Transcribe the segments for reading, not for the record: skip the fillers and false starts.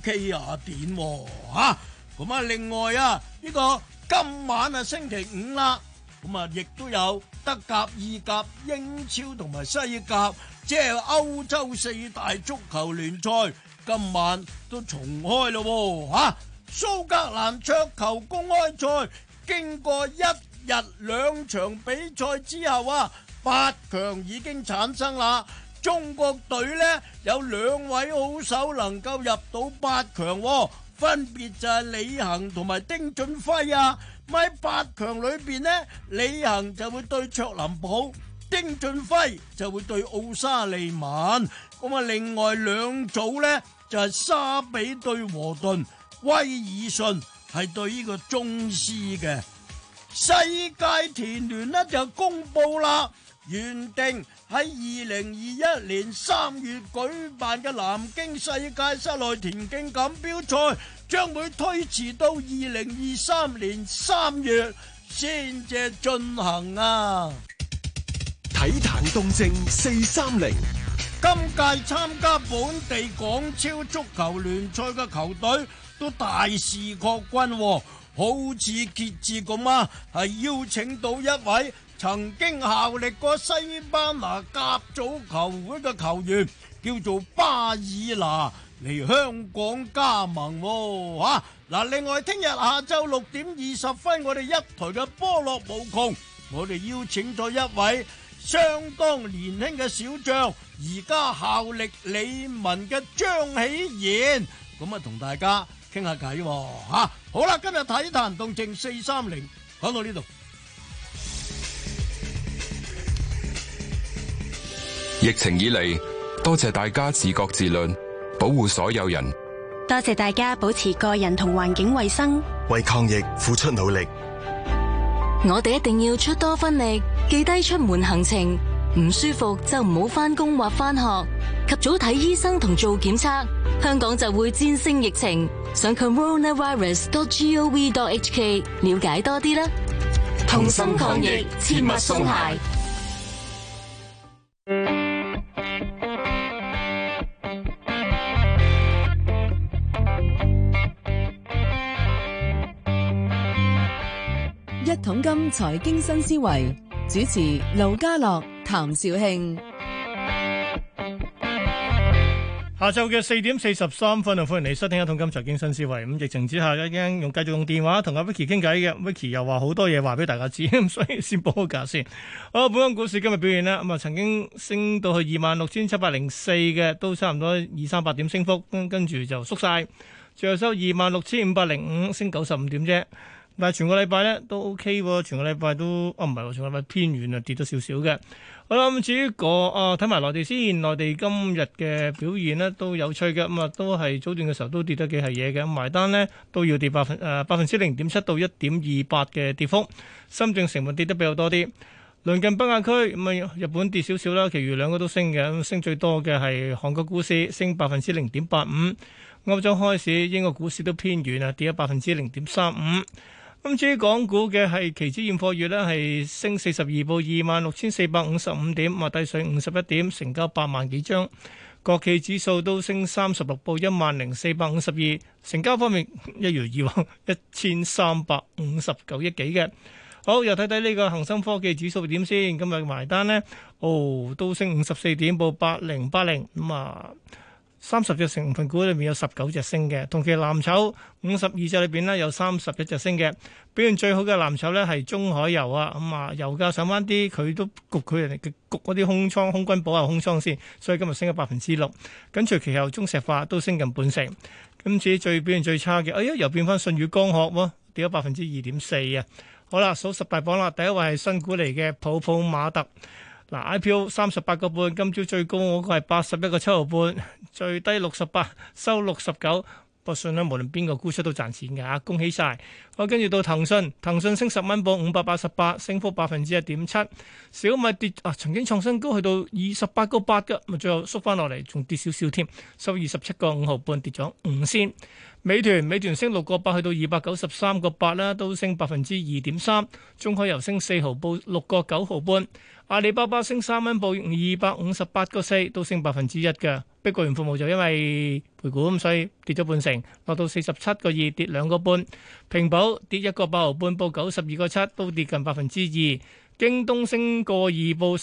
OK 啊點吓？咁啊，另外啊，呢個今晚啊星期五啦，咁啊亦都有德甲、意甲、英超同埋西甲，即係歐洲四大足球聯賽，今晚都重開咯吓。蘇格蘭桌球公開賽經過一日兩場比賽之後啊，8強已經產生啦。中國隊呢有2位好手能夠入到8強，分別就係李行同埋丁俊暉啊。喺8強裏邊呢，李行就會對卓林普，丁俊暉就會對奧沙利文。咁啊，另外兩組呢就係沙比對和頓，威爾遜係對呢個宗師嘅。世界田聯呢就公布啦，原定喺2021年3月舉辦嘅南京世界室內田徑錦標賽將會推遲到2023年3月先至進行啊！ 體壇動靜430， 今屆參加本地港超足球聯賽嘅球隊都大肆擴軍，好似傑志咁啊，係邀請到一位曾經效力過西班牙甲組球會嘅球員，叫做巴爾拿嚟香港加盟吓。嗱，另外聽日下晝6點20分，我哋一台嘅波樂無窮，我哋邀請咗一位相當年輕嘅小將，而家效力理文嘅張喜賢，咁啊同大家傾下偈吓。好啦，今日體壇動靜430講到呢度。 疫情以嚟，多謝大家自覺自律，保護所有人。 多謝大家保持個人同環境衛生， 為抗疫付出努力。 我哋一定要出多分力，記低出門行程，唔舒服就唔好返工或返學，及早睇醫生同做檢測，香港就會戰勝疫情。上 coronavirus.gov.hk 了解多啲啦。同心抗疫，切勿鬆懈。 一桶金財經新思維，主持盧家樂、譚紹興。 下晝嘅4點43分，歡迎你收聽一桶金財經新思維。咁疫情之下，已經繼續用電話同阿 Vicky 傾偈嘅。Vicky 又話好多嘢話俾大家知，所以先報個價先。好，本港股市今日表現啦，咁啊曾經升到去26,704嘅，都差唔多200-300點升幅，跟住就縮晒，最後收26,505，升95點啫。但係全個禮拜咧都 OK 喎，全個禮拜都唔係喎，全個禮拜偏軟啊，跌咗少少嘅。好啦，咁至於睇埋內地先，內地今日嘅表現呢都有趣嘅，咁啊都係早段嘅時候都跌得幾係嘢嘅，咁埋單呢都要跌百分之0.7到1.28嘅跌幅。深證成分跌得比較多啲。鄰近北亞區咁啊，日本跌少少啦，其餘兩個都升嘅，咁升最多嘅係韓國股市升0.85%，歐洲開市英國股市都偏軟啊，跌咗0.35%。咁至於港股嘅係期指現貨月呢，係升42，報26,455點，啊低水51點，成交8萬幾張。國企指數都升36，報10,452。成交方面一如以往1,359億幾嘅。好，又睇睇呢個恒生科技指數點先。今日埋單呢，都升54點，報8080。咁啊，30隻成分股裏面有19隻升嘅，同期藍籌52隻裏邊呢，有31隻升嘅。表現最好嘅藍籌呢係中海油啊，咁啊油價上翻啲，佢都焗佢人哋焗嗰啲空倉空軍補下空倉先，所以今日升咗6%。跟隨其後中石化都升近半成。今次最表現最差嘅，又變翻舜宇光學喎，跌咗2.4%啊。好啦，數10大榜啦，第一位係新股嚟嘅普普馬特。嗱 IPO 38個半，今朝最高嗰個係81個7毫半，最低68，收69。不過信咧，無論邊個沽出都賺錢嘅嚇，恭喜晒！好，跟住到騰訊升10蚊，報588，升幅1.7%。小米跌曾經創新高去到28個8嘅，咪最後縮翻落嚟，仲跌少少添，收27個5毫半，跌咗5仙。美團升6個8，去到293個8啦，都升2.3%。中海油升4毫，報6個9毫半。阿里巴巴升3蚊，報258個4，都升1%嘅。 碧桂園服務就因為配股咁，所以跌咗半成，落到47.2，跌2.5。平保跌1.8毫半，報92.7，都跌近2%。京東升個二，報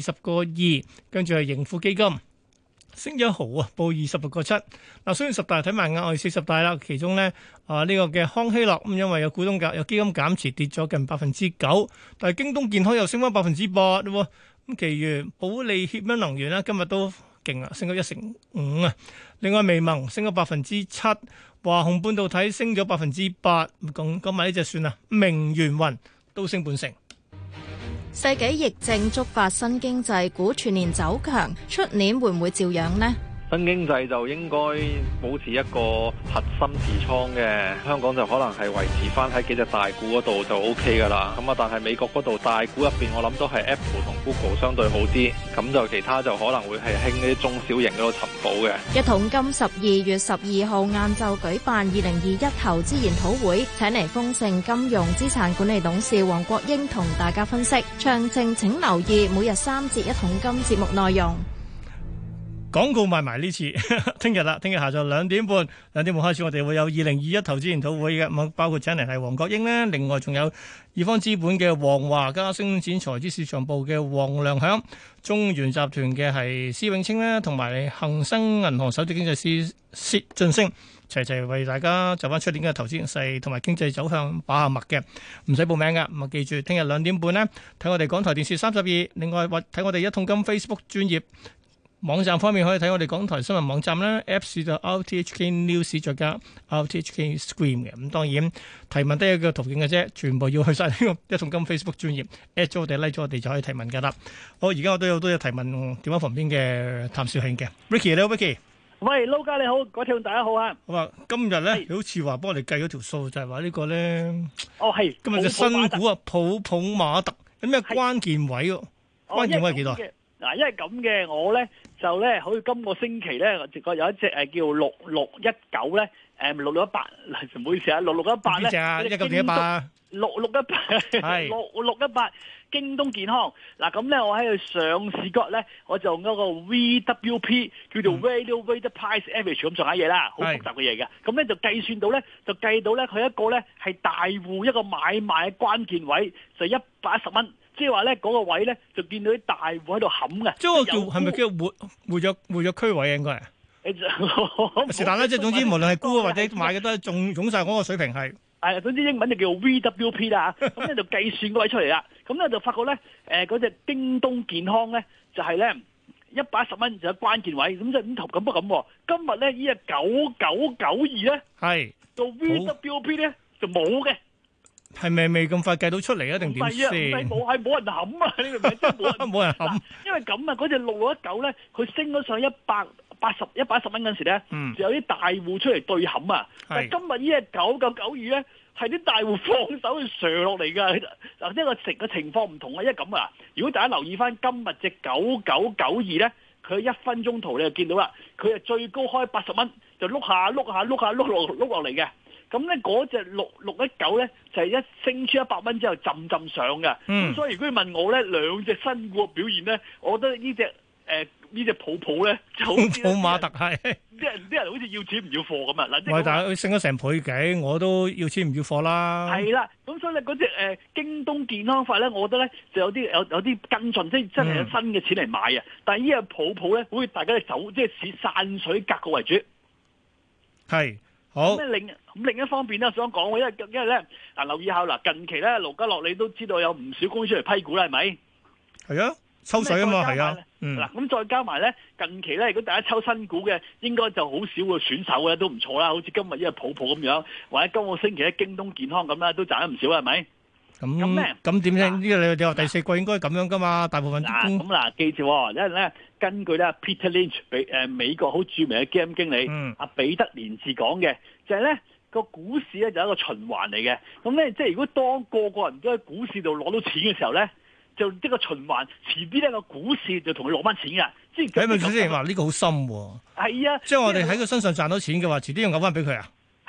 320.2，跟住係盈富基金升1毫啊，報26.7。嗱，雖然10大睇埋額外40大啦，其中咧呢個嘅康希諾咁，因為有股東有基金減持，跌咗近9%，但係京東健康又升翻8%喎。咁，其餘保利協鑫能源咧今日都勁啊，升咗1.5%啊。另外微盟升咗7%，華虹半導體升咗8%。講埋呢隻算啦，明源雲都升半成。 世紀疫症觸發新經濟股全年走強，出年會唔會照樣呢？ 新經濟就應該保持一個核心持倉嘅，香港就可能係維持翻喺幾隻大股嗰度就 OK 噶啦。咁啊，但係美國嗰度大股入邊，我諗都係 Apple 同 Google 相對好啲，咁就其他就可能會係興啲中小型嗰度尋寶嘅。 一桶金12月12號晏晝舉辦2021投資研討會，請嚟豐盛金融資產管理董事黃國英同大家分析。詳情請留意每日3節一桶金節目內容。 廣告賣埋呢次，聽日啦，聽日下晝2點半開始，我哋會有2021投資研討會嘅，咁包括請嚟係黃國英咧，另外仲有易方資本嘅黃華嘉、星展財資市場部嘅黃良響、中原集團嘅係施永青咧，同埋恒生銀行首席經濟師薛俊升，齊為大家就翻出年嘅投資形勢同埋經濟走向把下脈嘅，唔使報名噶，咁啊記住，聽日2點半咧睇我哋港台電視32，另外或睇我哋一桶金 Facebook 專頁。網站方面可以睇我哋港台新聞網站啦 ，Apps 就 RTHK News 再加 RTHK Screen 嘅。咁當然提問得一個途徑嘅啫，全部要去晒呢個一桶金 Facebook 專頁 at 咗我哋 like 咗我哋就可以提問噶啦。好，而家我都有好多提問電話旁邊嘅譚兆慶嘅 Ricky， 你好 Ricky。 喂，撈家你好，各位聽眾大家好啊。 好啊，今日咧好似話幫我哋計咗條數，就係話呢個咧。 哦，係。 今日隻新股啊，普馬特有咩關鍵位喎？關鍵位係幾多？ 嗱，因為咁嘅，我咧就咧，好似今個星期咧，我直覺有一隻叫6619咧，6618，唔好意思啊，6618咧， 邊隻啊？1918 6618京東健康。嗱咁咧，我喺佢上市嗰日咧，我就用嗰個 VWP 叫做 Value Weighted Price Average 咁上下嘢啦，好複雜嘅嘢嘅。咁咧就計到咧，佢一個咧係大戶一個買賣嘅關鍵位就110蚊。即係話咧，嗰個位咧就見到啲大戶喺度冚嘅。即係係咪叫活躍區位啊？應該係。是但啦，即係總之，無論係沽或者買嘅都係總晒嗰個水平係。 係，總之英文就叫 VWP 啦。咁咧就計算嗰位出嚟啦。咁咧就發覺咧，嗰隻京東健康咧就係咧110蚊就有關鍵位。咁即係咁不過咁。今日咧呢隻9992咧係到 VWP 咧就冇嘅。 係咪未咁快計到出嚟啊？定點先？ 冇人冚啊！呢個名真係冇人冚。 因為咁啊，嗰隻6619咧，佢升咗上110蚊嗰陣時咧，就有啲大戶出嚟對冚啊。但係今日呢隻9992咧，係啲大戶放手去上落嚟㗎。嗱，呢個情況唔同啊，因為咁啊，如果大家留意翻今日隻9992咧，佢1分鐘圖你就見到啦，佢係最高開80蚊，就碌下落嚟嘅。咁咧嗰隻6619咧就係一升出100蚊之後浸上嘅，咁所以如果你問我咧兩隻新股嘅表現咧，我覺得呢隻普咧就好似普馬特係啲人好似要錢唔要貨咁啊！嗱， 喂，但係佢升咗成倍幾，我都要錢唔要貨啦。 係啦，咁所以咧嗰隻京東健康法咧，我覺得咧就有啲跟進，即係真係有新嘅錢嚟買啊！但係呢隻普咧，好似大家走即係似散水格局為主， 係。好。 咁另一方面咧，我想講，因為咧嗱，留意下嗱，近期咧盧家樂你都知道有唔少公司嚟批股啦，係咪？係啊，抽水啊嘛，係啊。 嗱，咁再加埋咧，近期咧，如果大家抽新股嘅，應該就好少嘅選手咧，都唔錯啦。好似今日呢個普咁樣，或者今個星期咧京東健康咁啦，都賺得唔少，係咪？ 咁點咧？呢個你話第四季應該咁樣噶嘛？大部分咁記住，因為咧根據咧 Peter Lynch 美國好著名嘅基金經理阿彼得連治講嘅，就係咧個股市咧就係一個循環嚟嘅。咁咧即係如果當個個人都喺股市度攞到錢嘅時候咧，就一個循環，遲啲咧個股市就同佢攞翻錢噶。即係咪先話呢個好深喎？ 係啊， 即係我哋喺佢身上賺到錢嘅話，遲啲要嘔翻俾佢啊？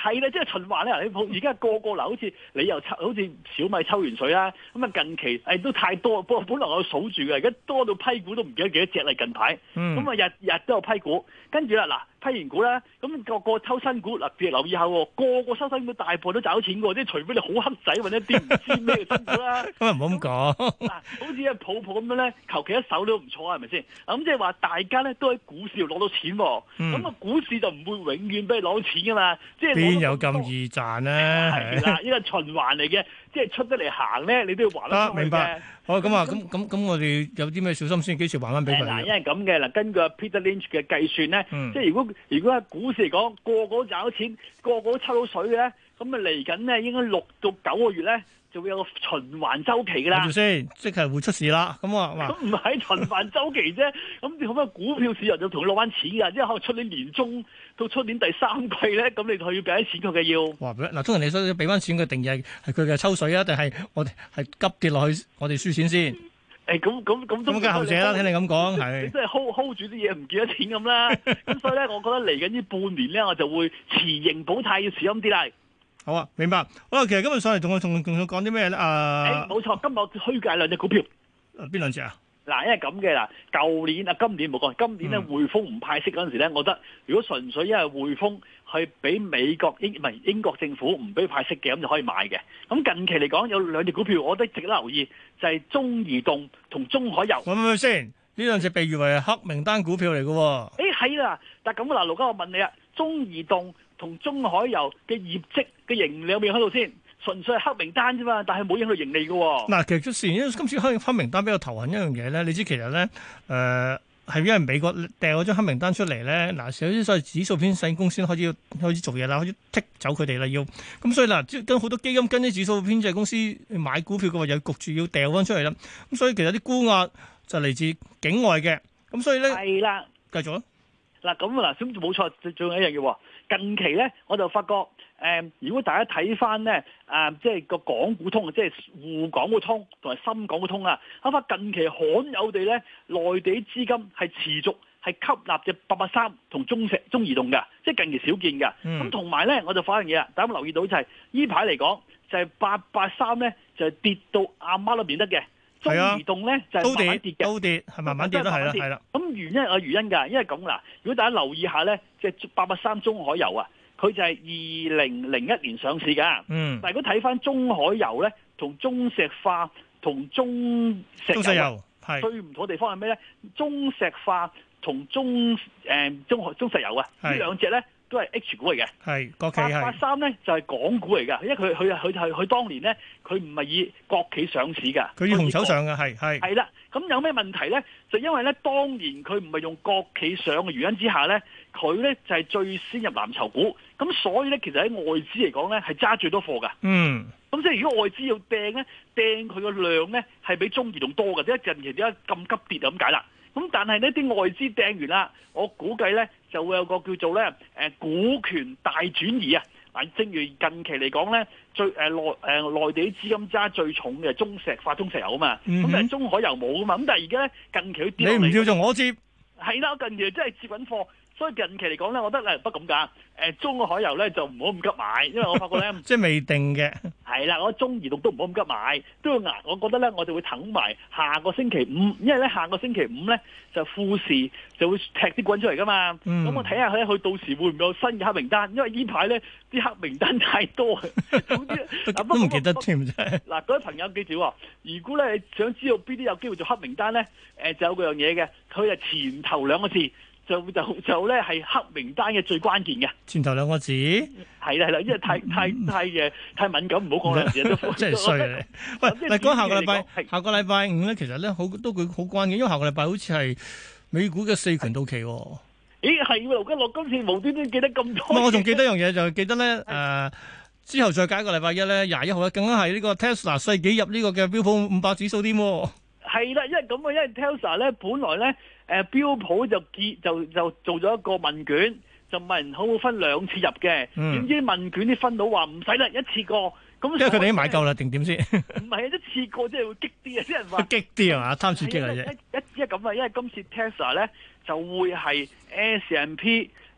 係啦，即係循環咧。你而家個嗱，好似你又抽，好似小米抽完水啦。咁啊，近期都太多，本來我數住嘅，而家多到批股都唔記得幾多隻啦。近排咁啊，日都有批股，跟住啦嗱，批完股啦，咁個抽新股嗱，別留意下喎，個收新股大部分都找錢嘅，即係除非你好黑仔或者啲唔知咩嘅新股啦。 咁啊唔好咁講。 嗱，好似啊泡泡咁樣咧，求其一手都唔錯啊，係咪先？咁即係話大家咧都喺股市度攞到錢，咁啊股市就唔會永遠俾你攞到錢噶嘛，即係邊有咁易賺咧？ 係啦，呢個循環嚟嘅，即係出得嚟行咧，你都要還得出去嘅。 明白。好，咁啊，咁我哋有啲咩小心先？幾時還翻俾佢？ 嗱，因為咁嘅嗱，根據 Peter Lynch 嘅計算咧，即係如果喺股市嚟講，個個都賺到錢，個個都抽到水嘅咧，咁啊嚟緊咧應該6到9個月咧，就會有個循環週期㗎啦。 先，即係會出事啦。咁唔係循環週期啫。咁你可唔可以股票市場就同佢攞翻錢㗎？即係可能出年年中到出年第3季咧，咁你就要俾啲錢佢嘅要。 哇！嗱，通常你所俾翻錢嘅定義係佢嘅抽水啊，定係我哋係急跌落去，我哋輸錢先？ 咁都梗係後者啦。聽你咁講，係你真係 hold 住啲嘢唔見得錢咁啦。咁所以咧，我覺得嚟緊呢半年咧，我就會持盈保泰，要小心啲啦。 好啊，明白。好啦，其實今日上嚟同我講啲咩咧？ 冇錯，今日虛界兩隻股票。 邊兩隻啊？ 嗱，因為咁嘅嗱，舊年啊，今年冇講，今年咧匯豐唔派息嗰陣時咧，我覺得如果純粹因為匯豐係俾美國英國政府唔俾派息嘅，咁就可以買嘅。咁近期嚟講有兩隻股票，我覺得值得留意，就係中移動同中海油。 喂咪先，呢兩隻被譽為黑名單股票嚟嘅喎。 係啦，但係咁嗱，盧家我問你啊，中移動同中海油嘅業績嘅盈利有冇喺度先？純粹係黑名單啫嘛，但係冇影響到盈利嘅喎。嗱， 其實出事，因為今次黑名單比較頭痕一樣嘢咧，你知其實咧，係因為美國掉咗張黑名單出嚟咧，嗱，有啲所謂指數偏細公司開始做嘢啦，開始剔走佢哋啦，要咁所以嗱，跟好多基金跟啲指數偏細公司買股票嘅話，又焗住要掉翻出嚟啦。咁所以其實啲沽壓就嚟自境外嘅，咁所以咧係啦， 繼續啦。 嗱咁嗱，咁冇錯，仲有一樣嘢喎。近期咧，我就發覺。如果大家睇翻咧，即係個港股通，即係滬港股通同埋深港股通啊，我發近期罕有地咧，內地資金係持續係吸納隻883同中移動嘅，即係近期少見嘅。咁同埋咧，我就發現嘢啦，大家有冇留意到就係呢排嚟講，就係883咧就係跌到阿媽都變得嘅，中移動咧就係慢慢跌嘅， 都跌係慢慢跌都係啦，係啦。 咁原因有原因㗎，因為咁嗱，如果大家留意下咧，即係883中海油啊。佢就係2001年上市㗎，但係如果睇翻中海油咧，同中石化同中石油最唔同嘅地方係咩咧？中石化同中石油啊，呢兩隻咧都係 H 股嚟嘅， 係國企係。 883咧就係港股嚟㗎，因為佢當年咧佢唔係以國企上市㗎， 佢以紅籌上嘅係啦。咁有咩問題咧？就因為咧當年佢唔係用國企上嘅原因之下咧，佢咧就係最先入藍籌股，咁所以咧其實喺外資嚟講咧係揸最多貨㗎。咁即係如果外資要掟咧，掟佢個量咧係比中移動多嘅，即係近期點解咁急跌咁解啦？咁但係呢啲外資掟完啦，我估計咧就會有個叫做咧股權大轉移啊！嗱，正如近期嚟講咧，最內地資金揸最重嘅中石化、中石油啊嘛，咁但係中海油冇啊嘛，咁但係而家咧近期佢跌落嚟， 你唔叫做我接， 係啦，近期真係接緊貨。所以近期嚟講咧，我覺得咧不咁㗎。中海油咧就唔好咁急買，因為我發覺咧即係未定嘅。 係啦，我中移動都唔好咁急買，都要捱。我覺得咧，我就會等埋下個星期五，因為咧下個星期五咧就富時就會踢啲滾出嚟㗎嘛。咁我睇下佢到時會唔會有新嘅黑名單？因為呢排咧啲黑名單太多， 都唔記得添啫。 嗱，各位朋友記住喎，如果咧你想知道邊啲有機會做黑名單咧，就有嗰樣嘢嘅，佢係前頭兩個字。就咧係黑名單嘅最關鍵嘅前頭兩個字係啦，因為太敏感，唔好講兩字都真係衰啊！喂，嗱，講下個禮拜五咧，其實咧都好關鍵，因為下個禮拜好似係美股嘅4權到期。 咦，係喎，盧家樂今次無端端記得咁多。 我仲記得一樣嘢，就記得咧之後再加一個禮拜一咧21號咧，更加係呢個 Tesla 世紀入呢個嘅標普500指數添。 係啦，因為咁啊，因為 Tesla 咧本來咧。標普就做咗一個問卷，就問人好唔好分兩次入嘅，點知問卷啲分到話唔使啦，一次過。咁因為佢哋已經買夠啦，定點先？ 唔係啊，一次過即係會激啲啊！啲人話激啲係嘛，貪刺激嚟啫。 一咁啊，因為今次 Tesla 咧就會係 S&P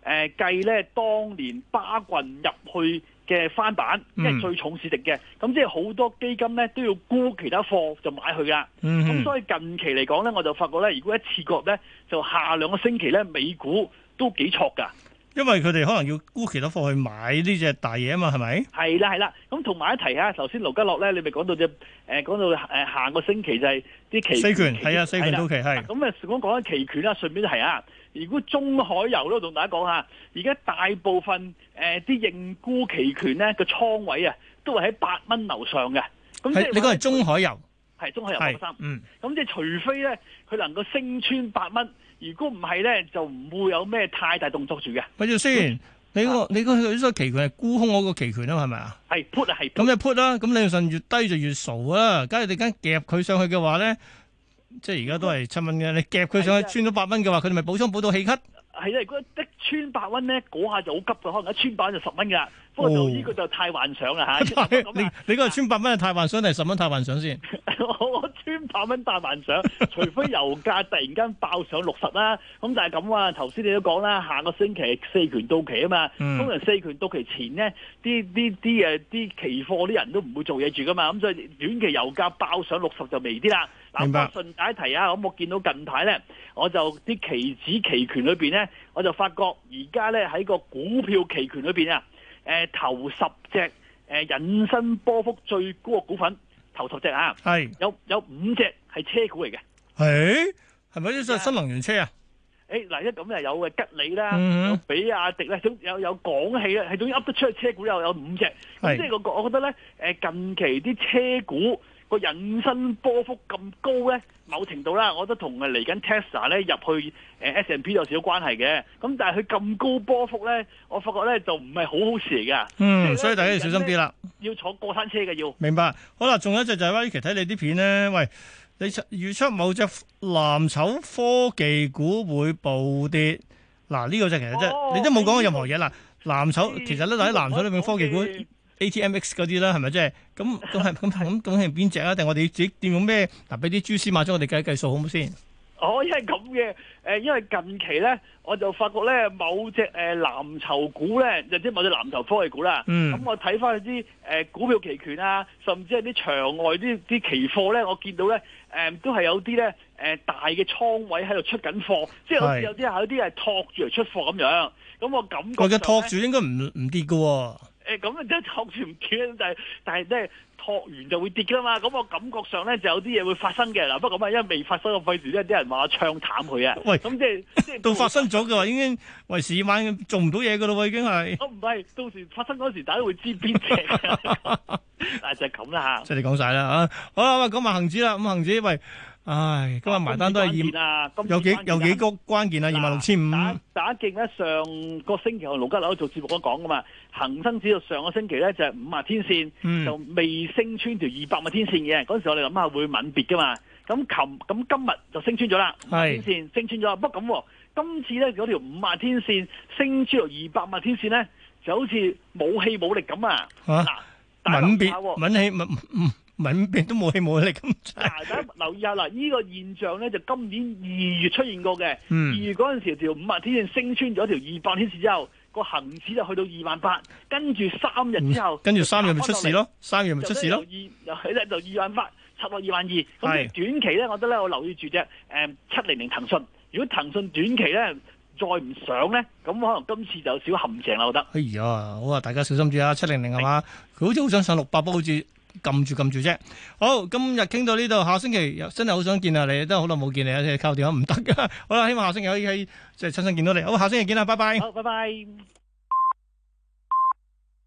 計咧當年巴郡入去嘅翻版，即係最重市值嘅，咁即係好多基金咧都要沽其他貨就買佢噶。咁所以近期嚟講咧，我就發覺咧，如果一次過咧，就下2個星期咧，美股都幾挫噶。 因為佢哋可能要沽其他貨去買呢隻大嘢啊嘛，係咪？ 係啦，咁同埋一提下，頭先盧家樂咧，你咪講到下個星期就係啲期四權係啊，四權到期係。 咁啊，講緊期權啦，順便提下，如果中海油都同大家講下，而家大部分啲認沽期權咧個倉位啊，都係喺8蚊樓上嘅。咁即係你講係中海油， 係中海油8.3。咁即係除非咧佢能夠升穿8蚊。如果唔係咧，就唔會有咩太大動作住嘅。 咪住先，你個期權係沽空嗰個期權啊嘛，係咪啊？ 係 put 啊，係。咁就 put 啦，咁理論上越低就越傻啦。假如你間夾佢上去嘅話咧，即係而家都係7蚊嘅，你夾佢上去穿咗8蚊嘅話，佢哋咪補倉補到氣咳。係啊，如果一穿8蚊咧，嗰下就好急嘅，可能一穿8就10蚊㗎。不過就呢個就太幻想啦嚇。 你嗰個穿8蚊係太幻想定係10蚊太幻想先？ 我穿8蚊太幻想，除非油價突然間爆上60啦。咁但係咁啊，頭先你都講啦，下個星期四權到期啊嘛。通常四權到期前咧，啲期貨啲人都唔會做嘢住噶嘛。咁所以短期油價爆上60就微啲啦。 明白。 順帶一提啊，咁我見到近排咧，我就啲期指期權裏邊咧，我就發覺而家咧喺個股票期權裏邊啊，頭10隻引申波幅最高嘅股份，頭10隻啊，係有5隻係車股嚟嘅。 係咪啲新能源車啊？ 嗱，一咁有吉利啦，有比亞迪咧，有廣汽咧，係總之噏得出去車股有5隻。咁即係我覺得咧，近期啲車股個引申波幅咁高咧，某程度啦，我覺得同嚟緊 Tesla 咧入去S&P 有少少關係嘅。咁但係佢咁高波幅咧，我發覺咧就唔係好好事嚟㗎。 所以大家要小心啲啦。 要坐過山車嘅要。 明白。好啦，仲有一隻就係話，呢期睇你啲片咧，喂，你預測某隻藍籌科技股會暴跌。嗱，呢個就其實你都冇講過任何嘢啦。藍籌其實咧喺藍籌裏面科技股。ATMX 嗰啲啦，係咪即係咁係邊隻啊？定我哋自己點用咩？嗱，俾啲蛛絲馬跡我哋計數好唔好先？ 因為咁嘅，因為近期咧，我就發覺咧，某隻藍籌股咧，即係某隻藍籌科技股啦。咁我睇翻啲股票期權啊，甚至係啲場外啲期貨咧，我見到咧都係有啲咧大嘅倉位喺度出緊貨，即係好似有啲係托住嚟出貨咁樣。咁我感覺嘅托住應該唔跌㗎喎。 咁啊，即係托住唔跌，但係咧托完就會跌噶嘛。咁我感覺上咧就有啲嘢會發生嘅嗱。不過咁啊，因為未發生嘅費事咧，啲人話我唱淡佢啊。喂，咁即係到發生咗嘅話，已經為時已晚，做唔到嘢噶咯喎，已經係。唔係，到時發生嗰時，大家會知邊隻。但係就係咁啦嚇。即係你講晒啦嚇。好啦，講埋恒指啦。咁恒指喂。唉，今日埋單都係有幾個關鍵啊，26,500。打勁咧，上個星期我盧家樂做節目都講噶嘛，恒生指數上個星期咧就係50天線，就未升穿條200天線嘅。嗰陣時我哋諗下會吻別噶嘛。咁今日就升穿咗啦，50天線升穿咗。不過咁，今次咧嗰條50天線升穿條200天線咧，就好似冇氣冇力咁啊！吻別吻別都冇氣冇力咁。大家留意下啦，呢個現象咧就今年2月出現過嘅。2月嗰陣時條50天線升穿咗條200天線之後，個恒指就去到28,000，跟住3日之後，跟住3日咪出事咯，3日咪出事咯，又喺咧就28,000，插落22,000。咁短期咧，我覺得咧我留意住隻700騰訊。如果騰訊短期咧再唔上咧，咁可能今次就有少陷阱啦，我覺得。哎呀，好啊，大家小心啲啊！700係嘛，佢好似好想上600，不過好似撳住啫。好，今日傾到呢度，下星期真係好想見下你，真係好耐冇見你啊！靠電話唔得噶。好啦，希望下星期可以即係親身見到你。好，下星期見啦，拜拜。好，拜拜。